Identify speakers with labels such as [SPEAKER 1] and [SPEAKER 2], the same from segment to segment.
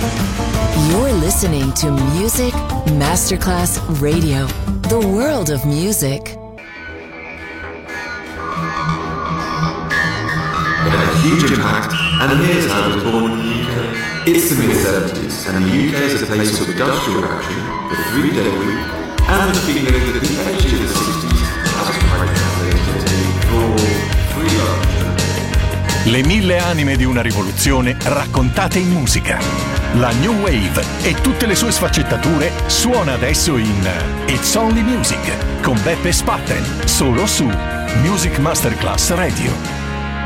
[SPEAKER 1] You're listening to Music Masterclass Radio, the world of music.
[SPEAKER 2] It had a huge impact, and here's how it was born in the UK. It's the mid-70s, and the UK is a place of industrial action, the 3-day week, and the feeling that the edge of the 60s has quite translated to raw, free love.
[SPEAKER 3] Le 1000 anime di una rivoluzione raccontate in musica. La New Wave e tutte le sue sfaccettature suona adesso in It's Only Music con Beppe Spatten, solo su Music Masterclass Radio.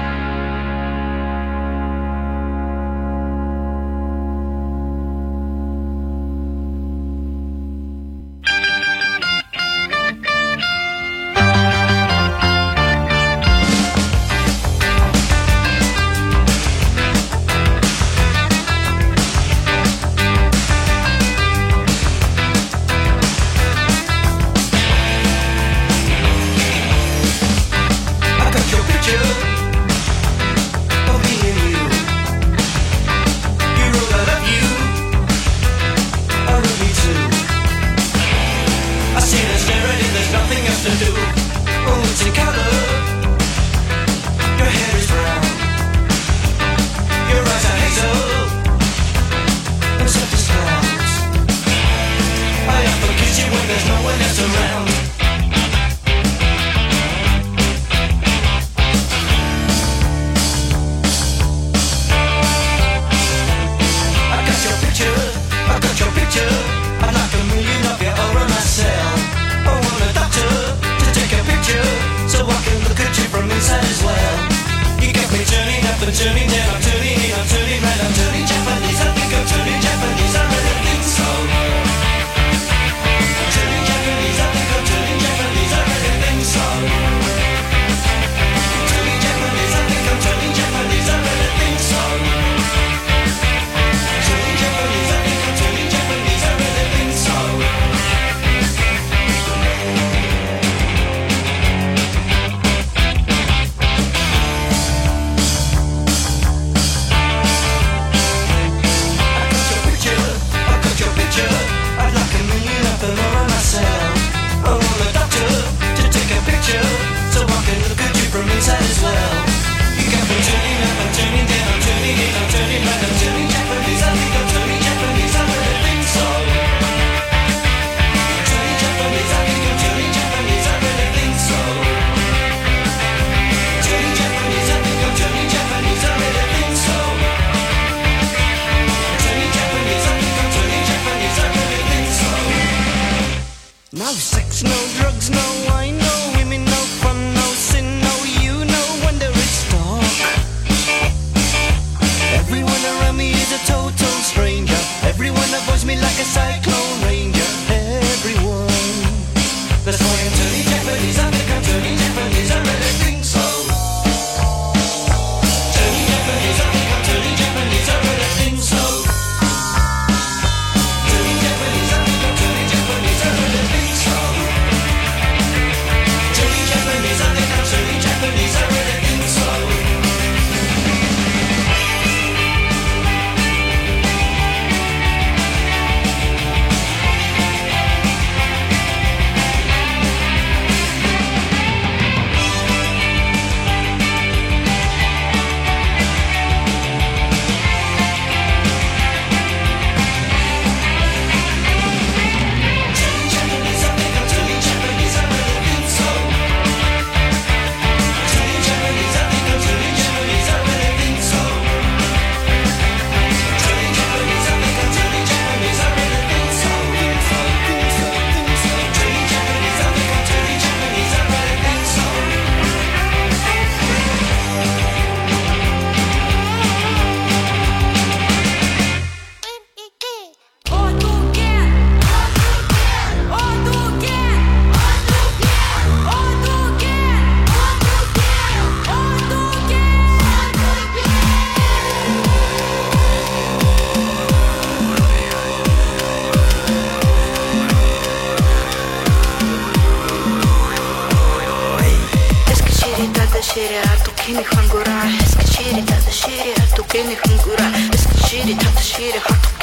[SPEAKER 4] Eskişehir'i hangura Eskişehir'i tatlı şehri Hatuk eni hangura Eskişehir'i tatlı şehri Hatuk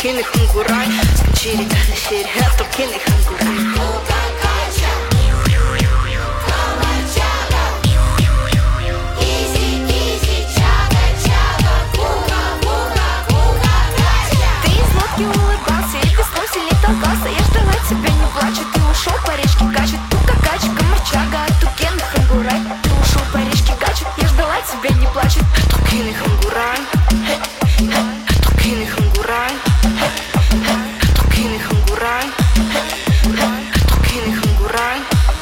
[SPEAKER 4] Tukini hungurai, skachiri tada shiri, tukini hungurai.
[SPEAKER 5] Толкался, я ждала тебя, не плачу. Ты ушел, по речке качет. Тука, качка, морчага, тукен, хангурай. Ты ушел, по речке качет. Я ждала тебя, не плачет.
[SPEAKER 4] Tukini хангурай, tukini хангурай, tukини хангурай, tukини хангурай.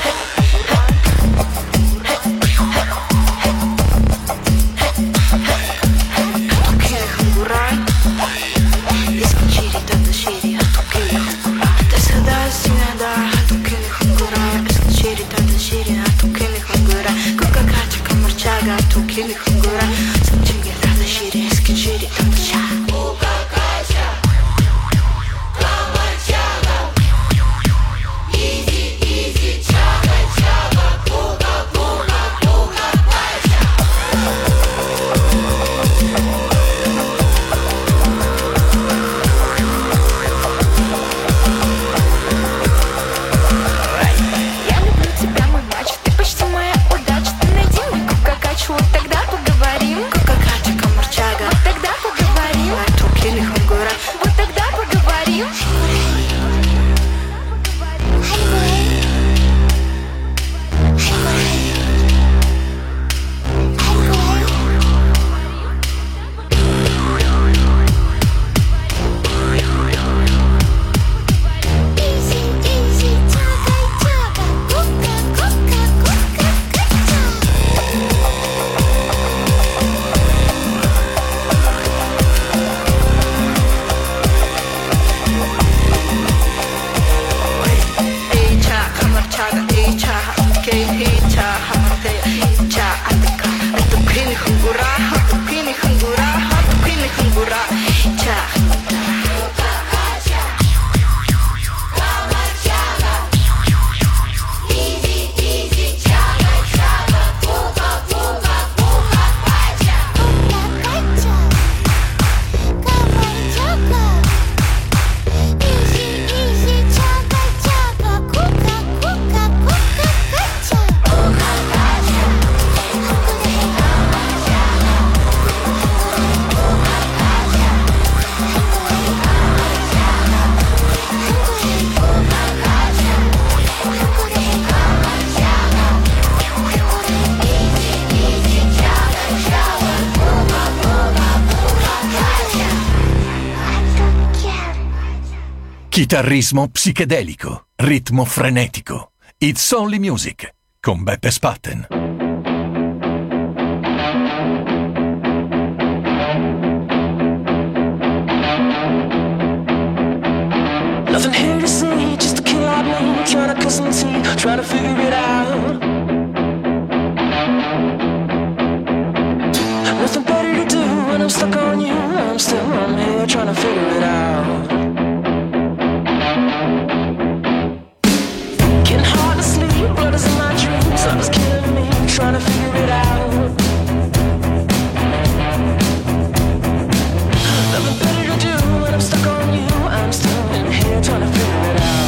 [SPEAKER 4] Tukini хангурай, искачири тата шири, tukini хангурай. Ты сада синада, tukini хангурай, искачири тата шири, tukini хангурай. Кука качка морчага, tukini хангурай, искачири тата шири, искачири тата ша.
[SPEAKER 5] Я люблю тебя, мой мачо. Ты почти моя удача. Ты найди мне кука-качу, вот тогда поговорим.
[SPEAKER 4] Кука качка морчага,
[SPEAKER 5] Вот тогда поговорим.
[SPEAKER 4] tukini хангурай.
[SPEAKER 5] Вот тогда поговорим.
[SPEAKER 3] Chitarrismo psichedelico, ritmo frenetico. It's Only Music con Beppe Spatten.
[SPEAKER 6] Nothing here to see, just a kid like me, trying to cut some teeth, trying to figure it out. Nothing better to do when I'm stuck on you. I'm here trying to figure it out. Getting hard to sleep, blood is in my dreams. Love is killing me, trying to figure it out. Nothing better to do when I'm stuck on you. I'm still in here trying to figure it out.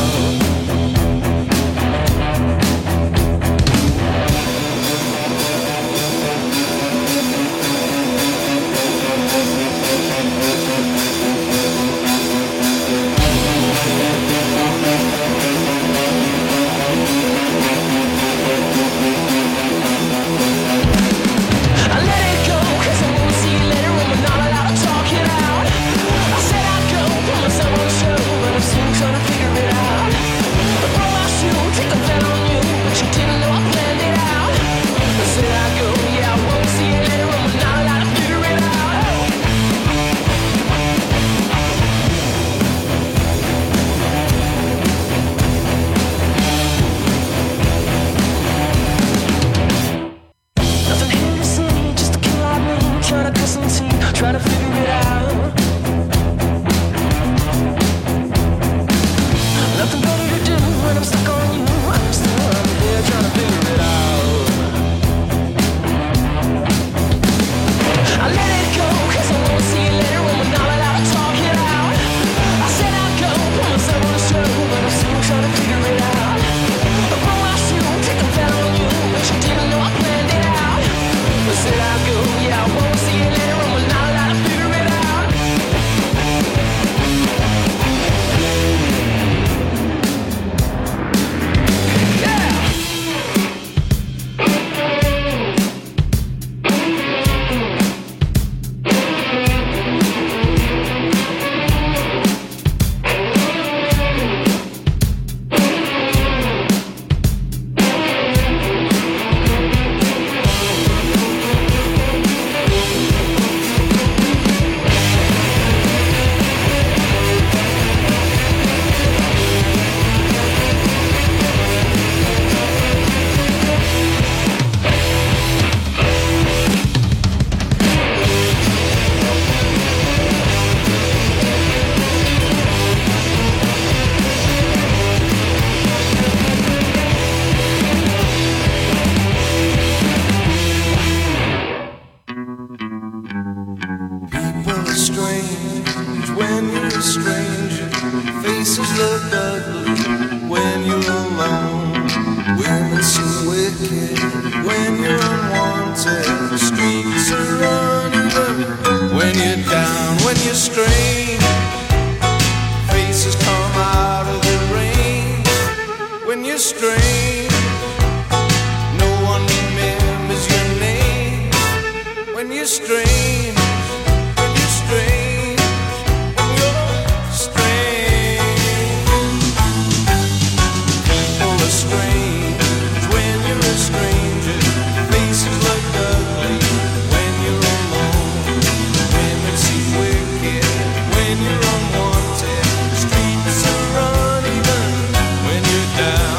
[SPEAKER 7] when you're a stranger. Faces look ugly when you're alone. Women seem wicked when you're unwanted. The streets are uneven when you're down, when you're strange. Faces come out of the rain when you're strange. No one remembers your name when you're strange. When you're strange, when you're strange. People are strange when you're a stranger. Faces look ugly when you're alone. Women seem wicked when you're unwanted. Streets are uneven when you're down.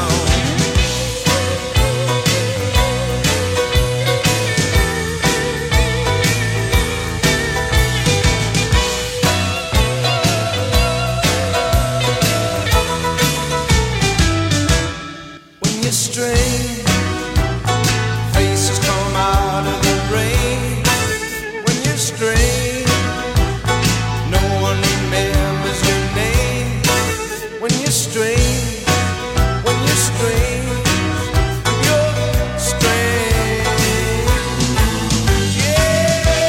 [SPEAKER 7] When you're strange, faces come out of the rain. When you're strange, no one remembers your name. When you're strange, when you're strange, you're strange. Yeah.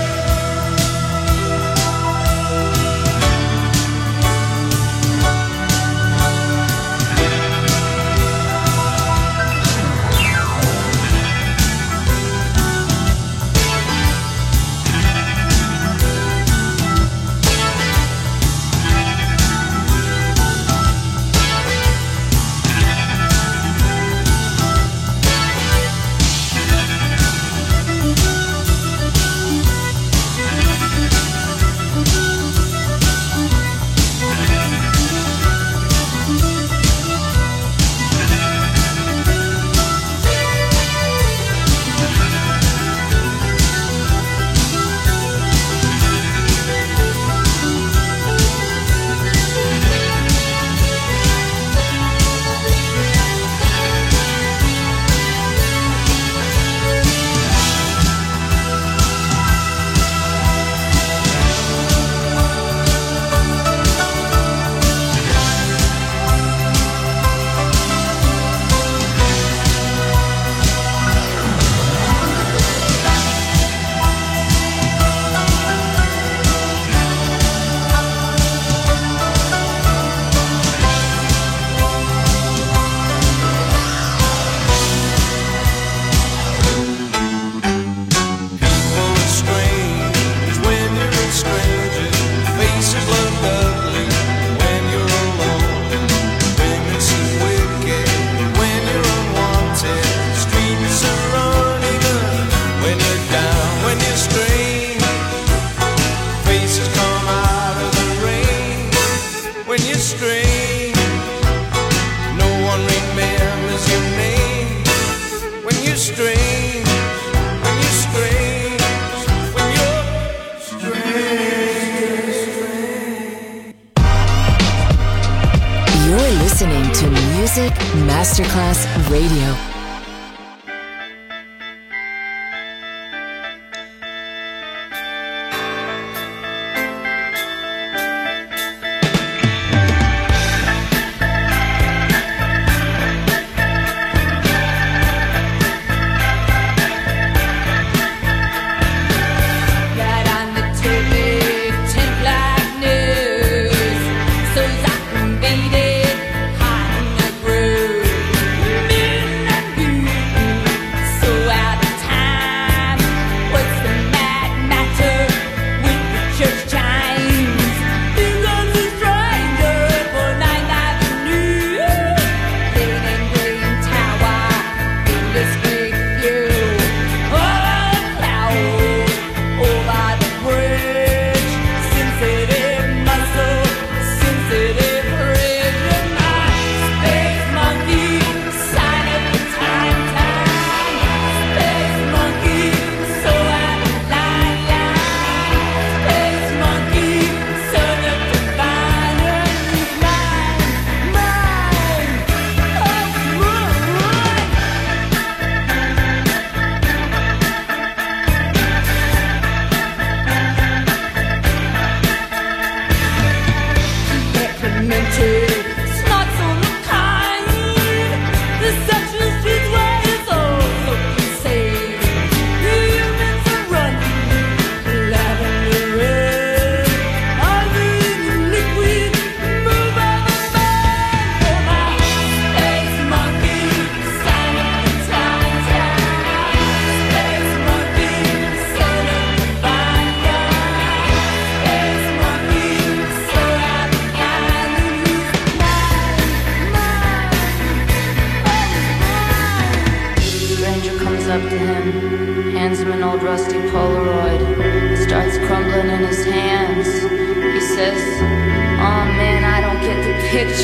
[SPEAKER 1] listening to Music Masterclass Radio.
[SPEAKER 8] Beat it hot in the groove.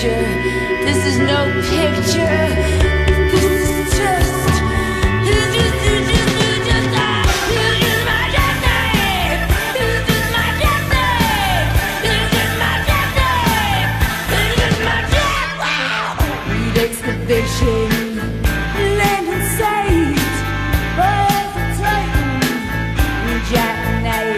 [SPEAKER 4] picture. This is no picture. This is just my destiny. This is my destiny. This is my destiny. This is my destiny. Need excavation. Land and sight. Hesitating. Jackknife.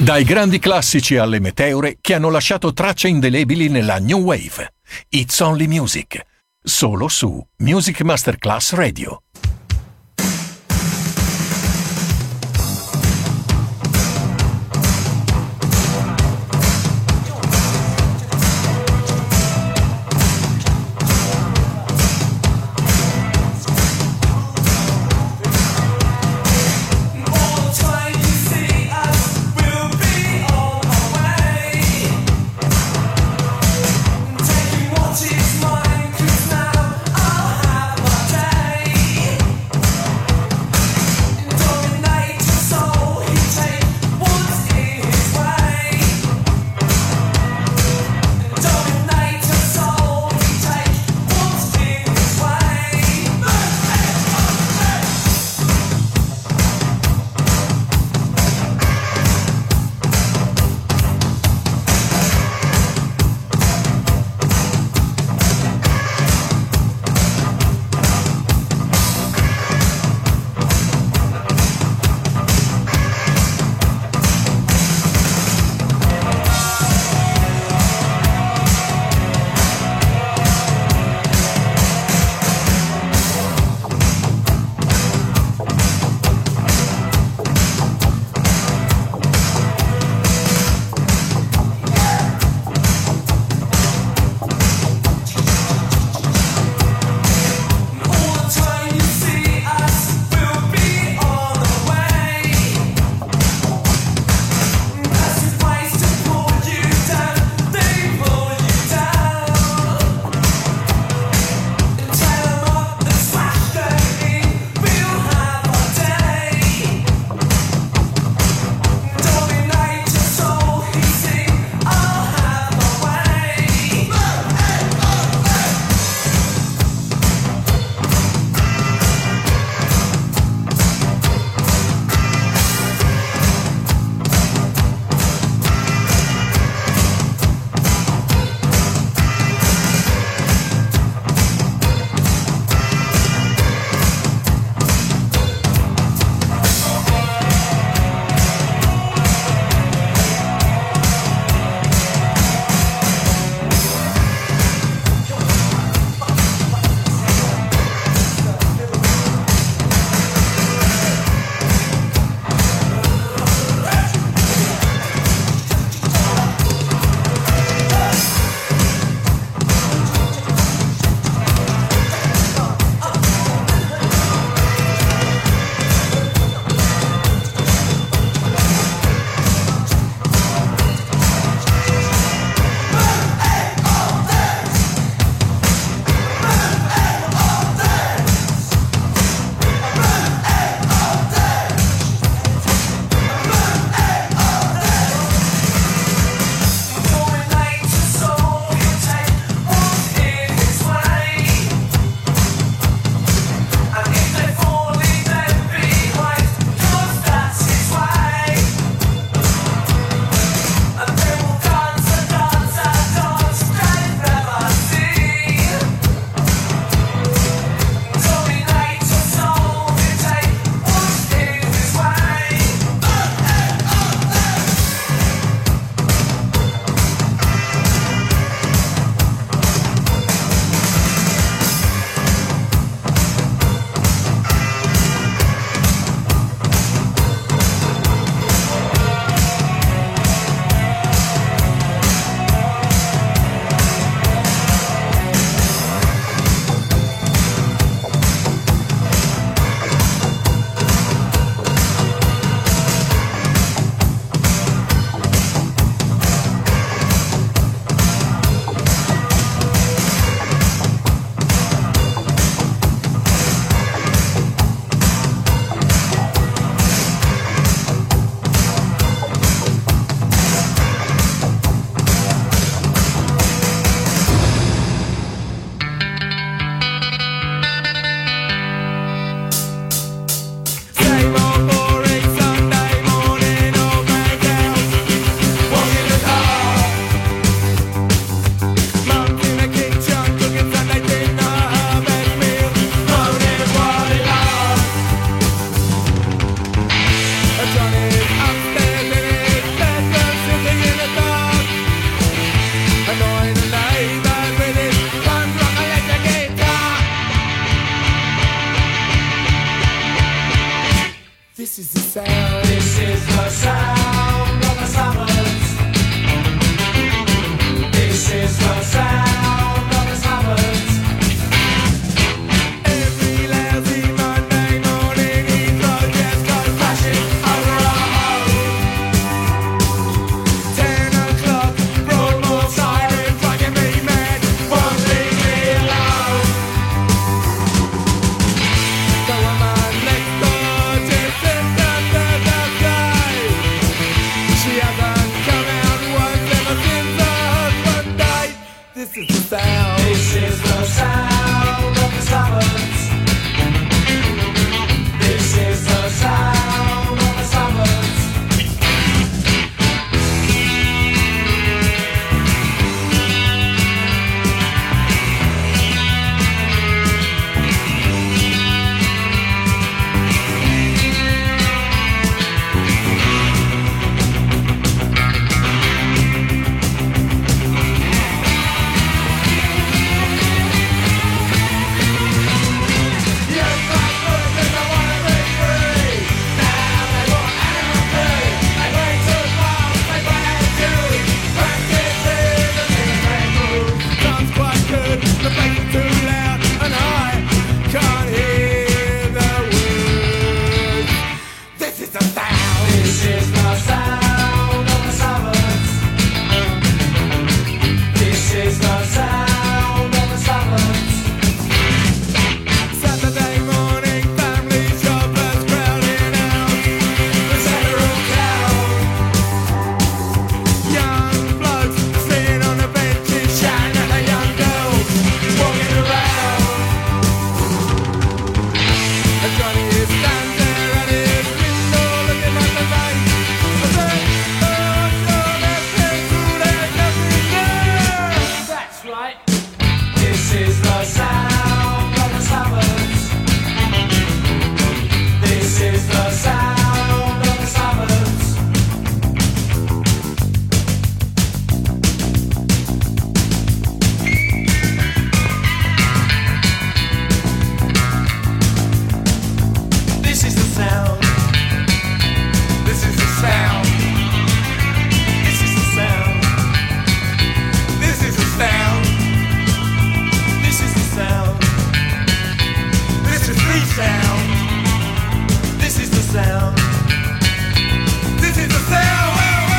[SPEAKER 3] Dai grandi classici alle meteore che hanno lasciato tracce indelebili nella New Wave. It's Only Music. Solo su Music Masterclass Radio.
[SPEAKER 8] What is mine? 'Cause now I'll have my day. This is the sound.
[SPEAKER 6] This is the sound of the suburbs. This is the sound of the suburbs.
[SPEAKER 8] Every lousy Monday morning, Heathrow just goes crashing over our home. 10 o'clock, Broadmoor siren, fucking me mad, won't leave me alone. The woman next door just sits under the sky. She hasn't come out once ever since her husband died. This is the sound.
[SPEAKER 6] This is the sound of the suburbs. This is the sound of the suburbs.
[SPEAKER 8] Sounds quite good, the bass is too loud, and I can't hear the words. This is the sound.
[SPEAKER 6] This is the sound of the suburbs. This is the sound of the suburbs.
[SPEAKER 8] Saturday morning, family shoppers crowding out the central town. Young blokes sitting on the benches, shouting at the young girls walking around. And Johnny is standing there at his window looking at the night. I said, oh, no, there's nothing there.
[SPEAKER 6] That's right. This is the sound of the suburbs. This is the sound of the suburbs. This is the sound.
[SPEAKER 8] This is the sound.
[SPEAKER 6] This is the sound.
[SPEAKER 8] This is the sound.
[SPEAKER 6] This is the sound.
[SPEAKER 8] This is the sound.
[SPEAKER 6] This is the sound.
[SPEAKER 8] This is the sound.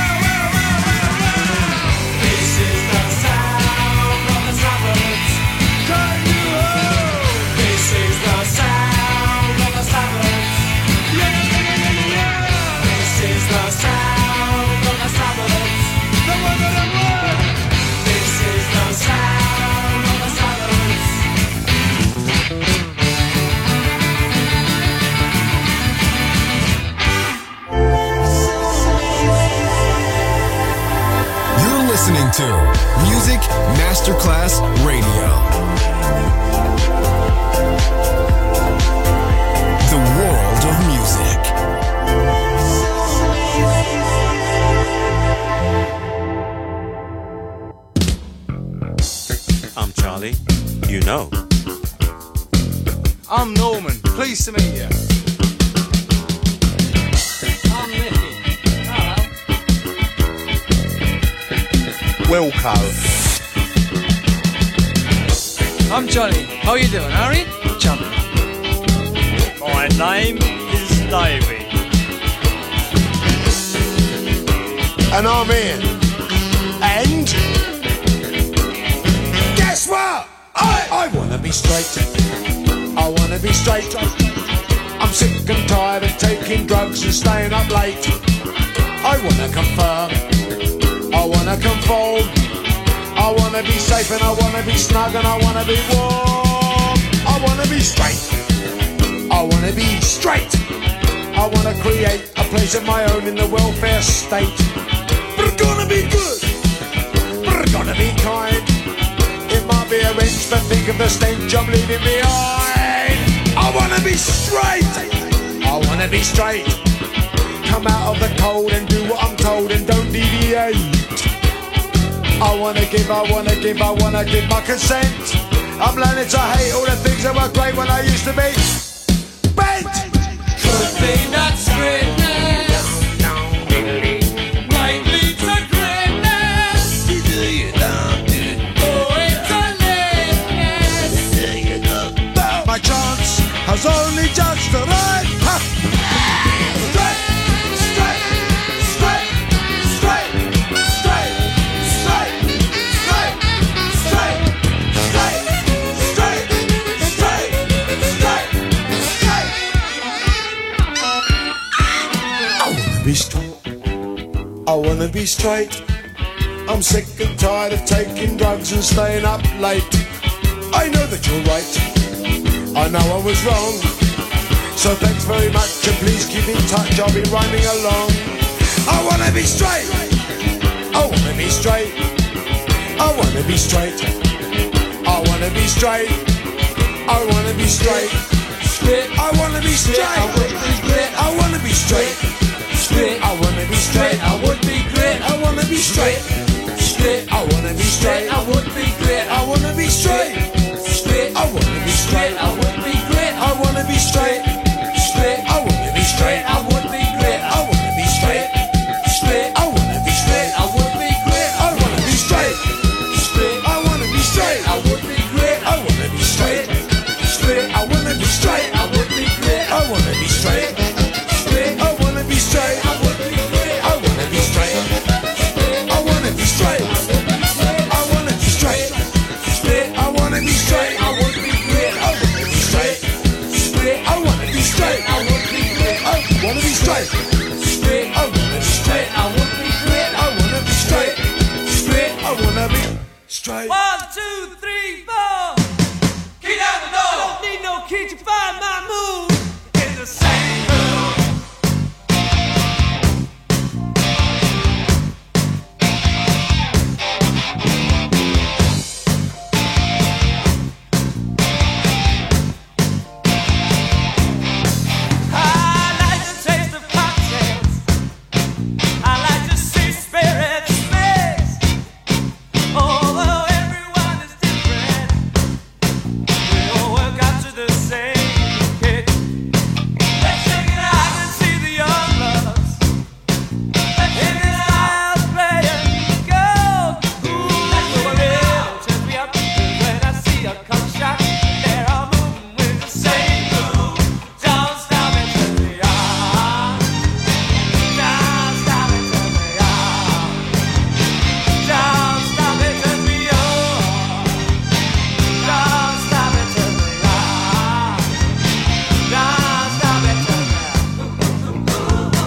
[SPEAKER 6] This is the sound of the suburbs.
[SPEAKER 8] Can you hold?
[SPEAKER 6] This is the sound of the suburbs. This is the sound of the suburbs.
[SPEAKER 8] The one that I want.
[SPEAKER 6] This is the sound of the suburbs.
[SPEAKER 9] You're listening to Music Masterclass Radio. The world of music.
[SPEAKER 10] I'm Charlie. You know.
[SPEAKER 11] I'm Norman. Pleased to meet you. I'm Nicky. Hello.
[SPEAKER 12] Wilco.
[SPEAKER 11] I'm Johnny. How you doing, Harry? Johnny.
[SPEAKER 13] My name is Davey.
[SPEAKER 12] And I'm Ian. And guess what? I wanna be straight. I wanna be straight. I'm sick and tired of taking drugs and staying up late. I wanna confirm. I wanna conform. I wanna be safe and I wanna be snug and I wanna be warm. I wanna be straight. I wanna be straight. I wanna create a place of my own in the welfare state. But gonna be good. But gonna be kind. It might be a wrench, but think of the stench I'm leaving behind. I wanna be straight. I wanna be straight. Come out of the cold and do what I'm told and don't deviate. I wanna give my consent. I'm learning to hate all the things that were great when I used to be bent.
[SPEAKER 6] Could be nuts.
[SPEAKER 12] be straight. I wanna be straight. I'm sick and tired of taking drugs and staying up late. I know that you're right, I know I was wrong. So thanks very much and please keep in touch, I'll be rhyming along. I wanna be straight, I wanna be straight, I wanna be straight, I wanna be straight, I wanna be straight, I wanna be straight, I wanna be straight, I wanna be straight, I would be great, I wanna be straight, I wanna be straight, I would be great, I wanna be straight, I wanna be straight, I would be great, I wanna be straight, I wanna be straight, I would be great, I wanna be straight, I wanna be straight, I would be great, I wanna be straight, I wanna be straight, I would be great, I wanna be straight, I wanna be straight, I would be great, I wanna be straight, I wanna be straight, I would be great, I wanna be straight, I wanna be straight, I wanna be straight, I wanna be straight, I would be great, I wanna be straight, I wanna be straight, I would be great, I wanna be straight, I wanna be straight, I would be great, I wanna be straight, I wanna be straight.
[SPEAKER 8] 1, 2, 3, 4. Key down the door. I don't need no key to find my move in the same room. I like the taste of cocktails. I like to see spirits mix. Although everyone is different, we all work out to the same kick. Let's check it out. I can see the young lovers in this house playing gold. Ooh, it really turns me up when I see a cock shot. They're all moving with the same groove. Don't stop and turn me on. Don't stop and turn me on. Don't stop and turn me on. Don't stop and turn me on. Don't stop and turn me on.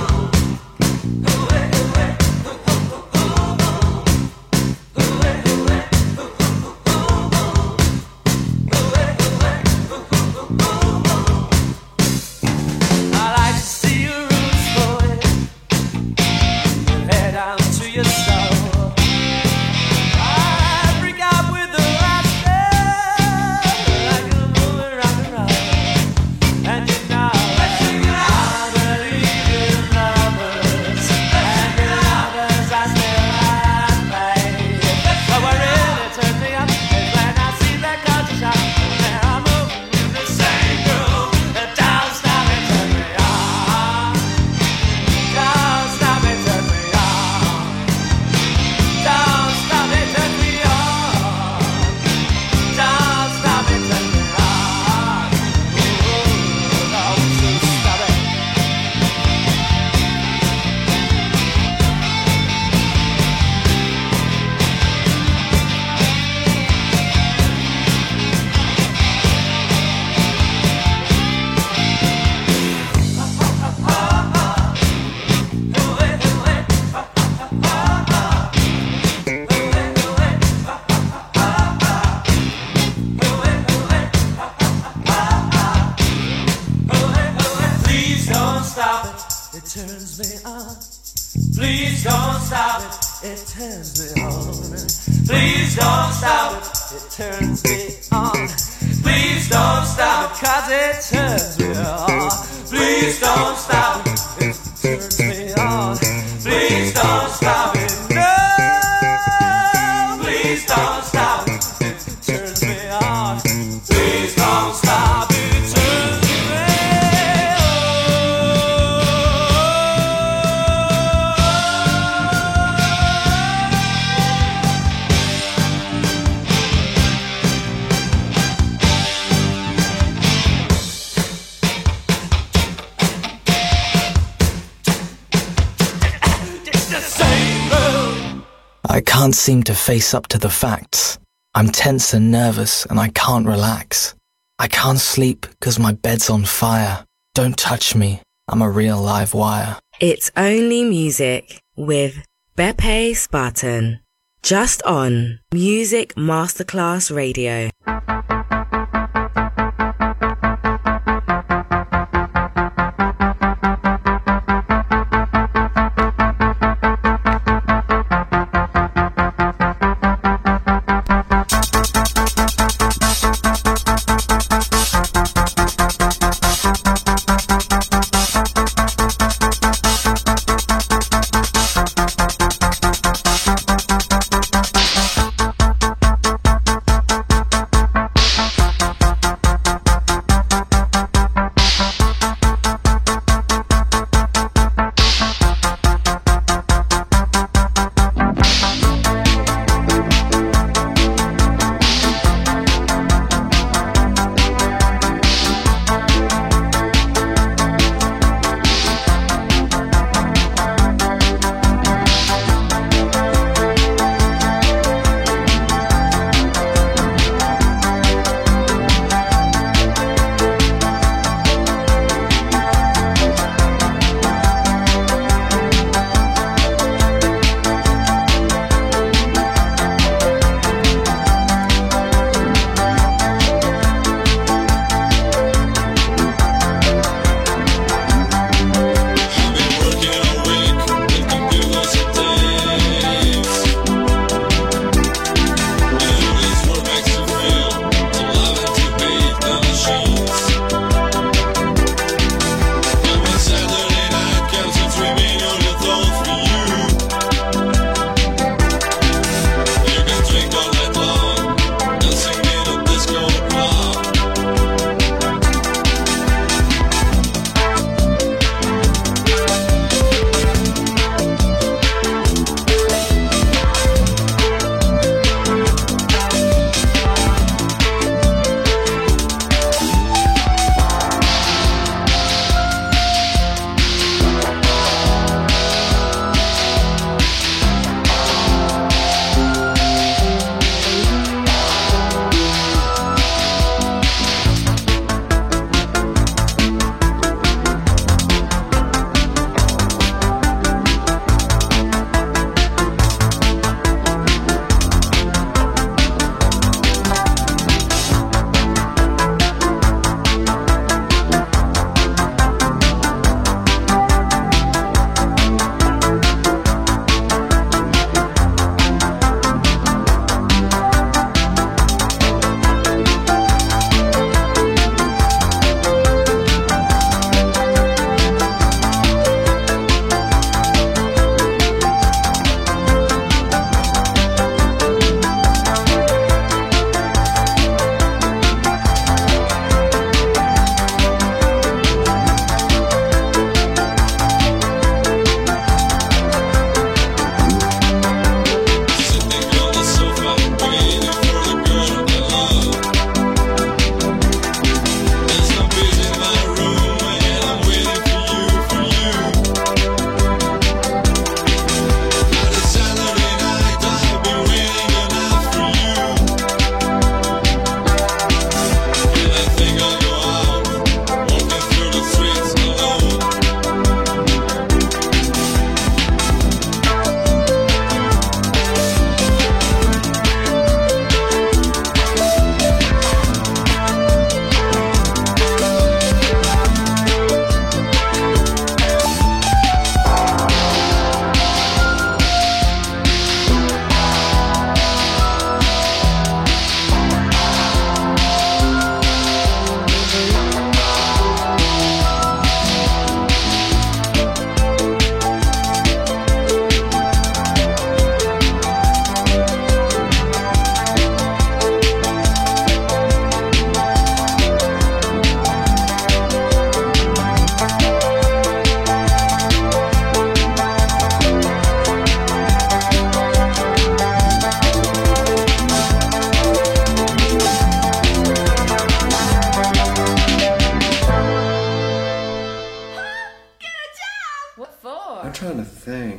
[SPEAKER 8] I like to see your roots forward, head down to your soul. I freak out with the rasta, like a moving rock and roll. And you know, I believe in lovers, and in lovers I still have faith. But what really turns me up is when I see that culture shock, and they're moving with the same groove. Don't stop and turn me on. Don't stop and turn me on. Don't stop and turn me on. Don't stop and turn me on. Ooh, don't stop it. Please don't stop it, it turns me on. Please don't stop it, it turns me on. Please don't stop it, it turns me on. Please don't stop it, 'cause it turns me on. Please don't stop it, it turns me on. Please don't stop it, no. Please don't stop it, it turns me on. Please don't stop it, it turns me on. It's the same room.
[SPEAKER 14] I can't seem to face up to the facts. I'm tense and nervous and I can't relax. I can't sleep 'cause my bed's on fire. Don't touch me, I'm a real live wire.
[SPEAKER 15] It's Only Music with Beppe Spartan. Just on Music Masterclass Radio.
[SPEAKER 16] trying to think.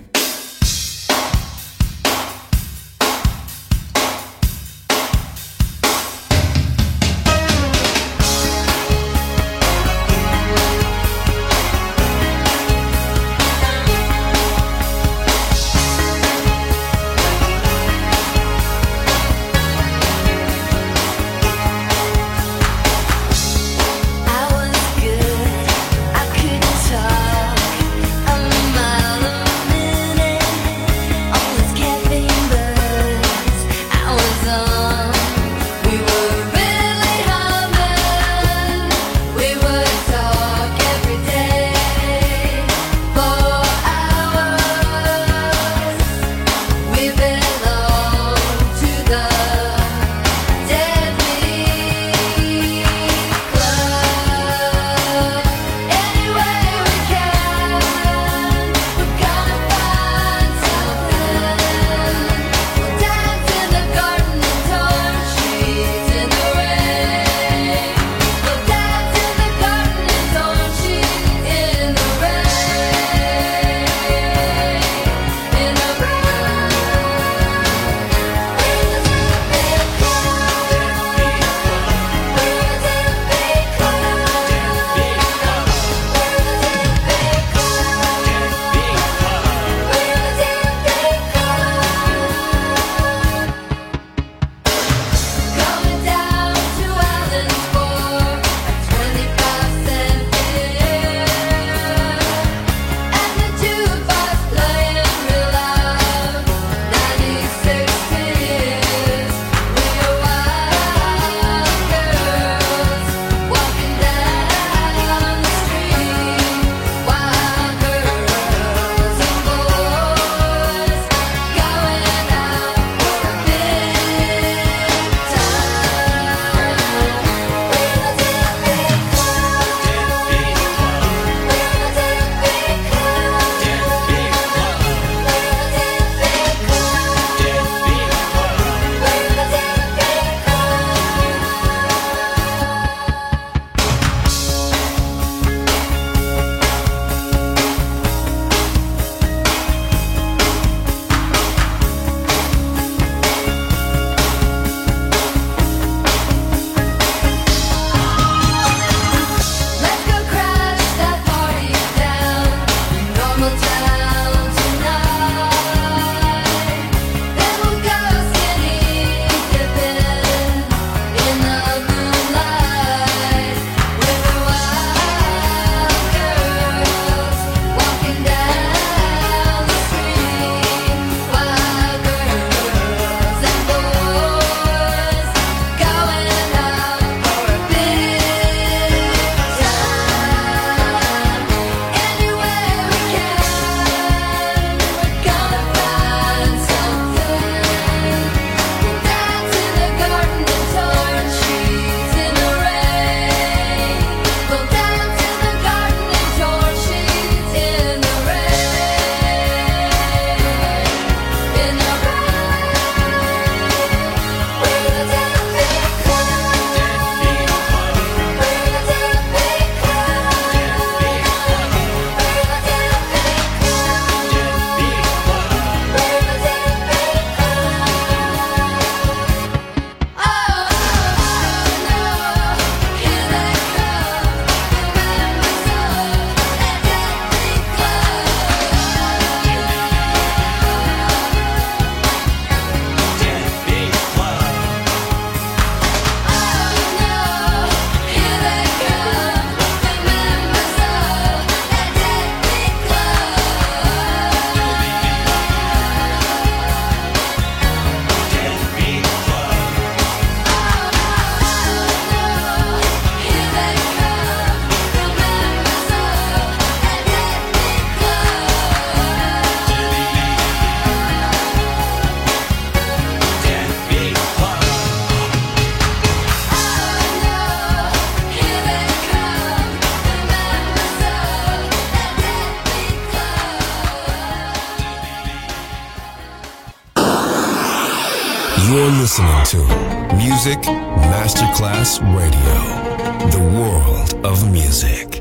[SPEAKER 9] You're listening to Music Masterclass Radio, the world of music.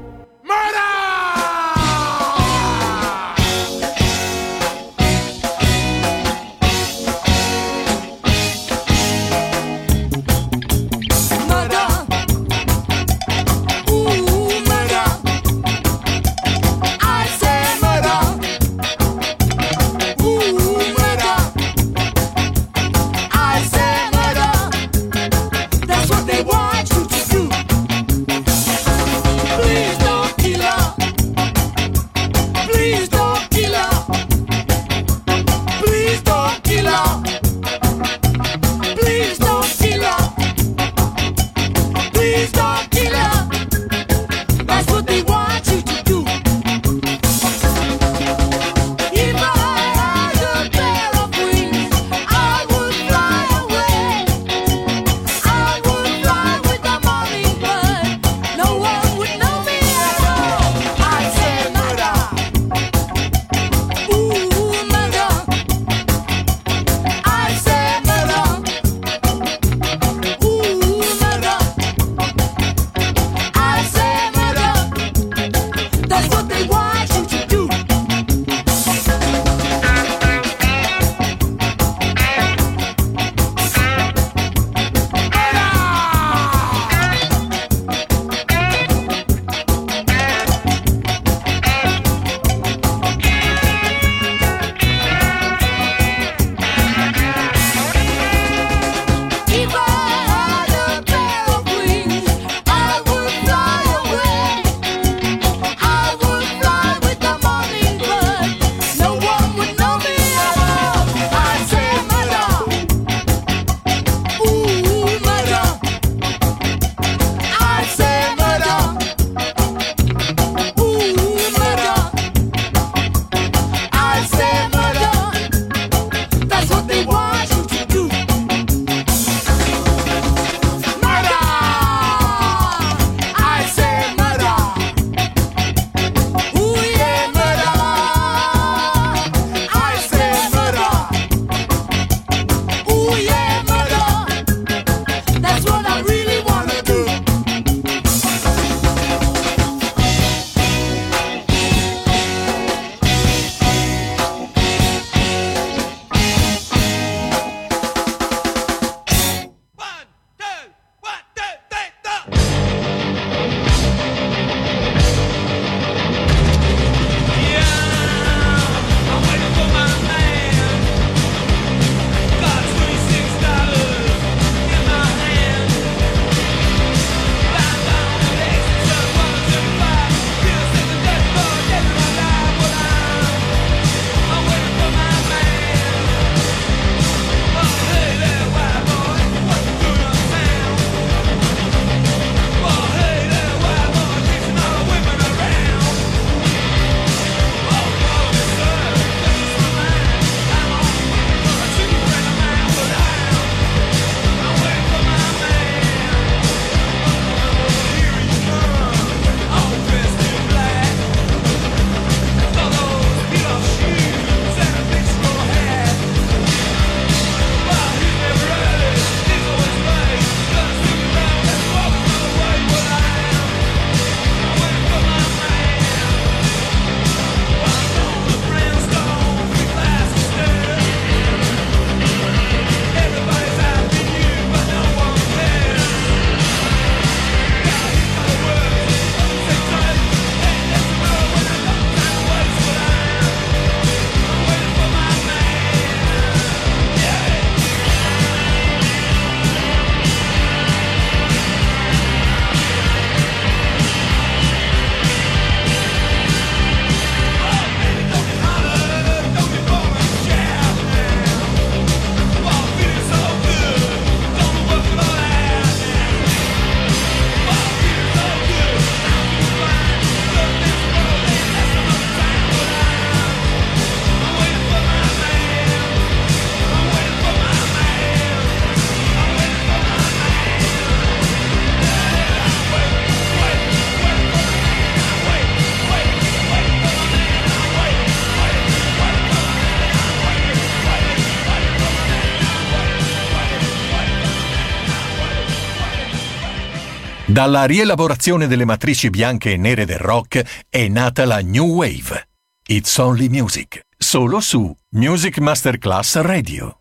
[SPEAKER 8] Please.
[SPEAKER 3] Dalla rielaborazione delle matrici bianche e nere del rock è nata la New Wave. It's Only Music, solo su Music Masterclass Radio.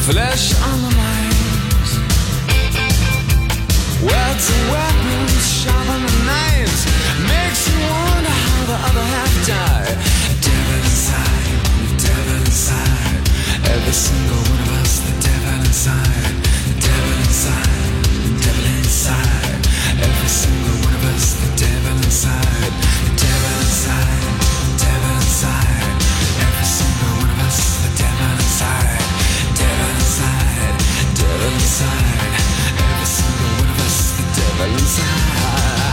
[SPEAKER 7] flesh on the minds, words and weapons, sharper than knives, makes you wonder how the other half died. Devil inside, the devil inside, every single one of us, the devil inside, the devil inside, the devil inside, every single one of us, the devil inside, the devil inside, the devil inside, every single one of us, the devil inside, devil inside, devil inside, every single one of us, the devil inside.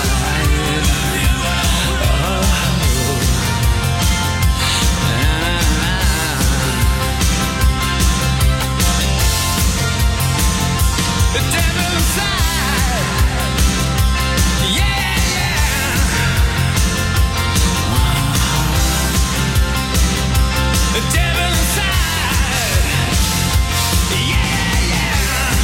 [SPEAKER 7] The devil inside, yeah, yeah. The devil inside, yeah, yeah.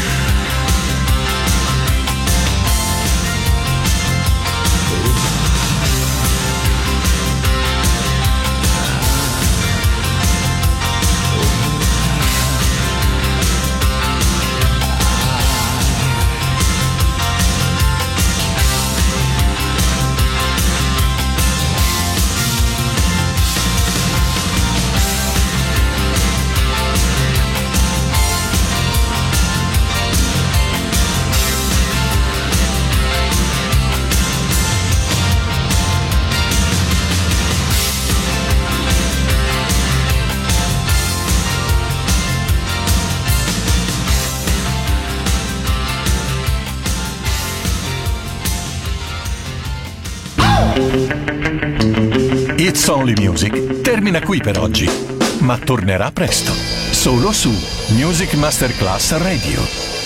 [SPEAKER 3] It's Only Music termina qui per oggi, ma tornerà presto, solo su Music Masterclass Radio.